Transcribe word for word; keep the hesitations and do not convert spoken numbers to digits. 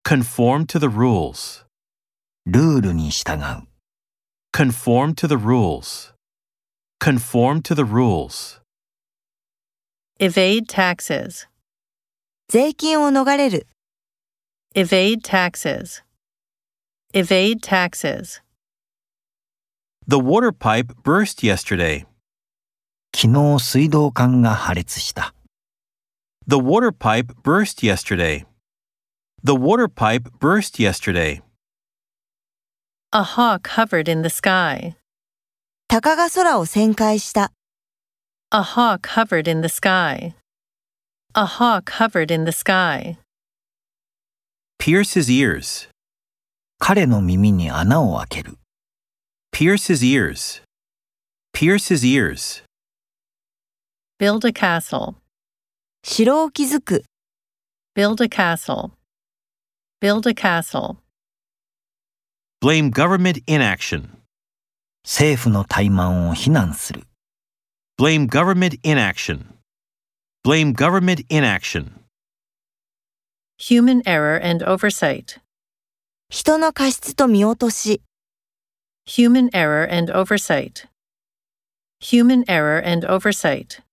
Conform to the rules. ルールに従う。 Conform to the rules. Conform to the rules. Evade taxes. 税金を逃れる。 Evade taxes. Evade taxes. The water pipe burst yesterday. 昨日水道管が破裂した。 The water pipe burst yesterday. The water pipe burst yesterday. A hawk hovered in the sky. 鷹が空を旋回した。 A hawk hovered in the sky. A hawk hovered in the sky. Pierce his ears. 彼の耳に穴を開ける。 Pierce his ears. Pierce his ears. Build a castle. 城を築く。 Build a castle. Build a castle. Blame government inaction. 政府の怠慢を非難する。 Blame government inaction. Blame government inaction. Human error and oversight. 人の過失と見落とし。 Human error and oversight. Human error and oversight.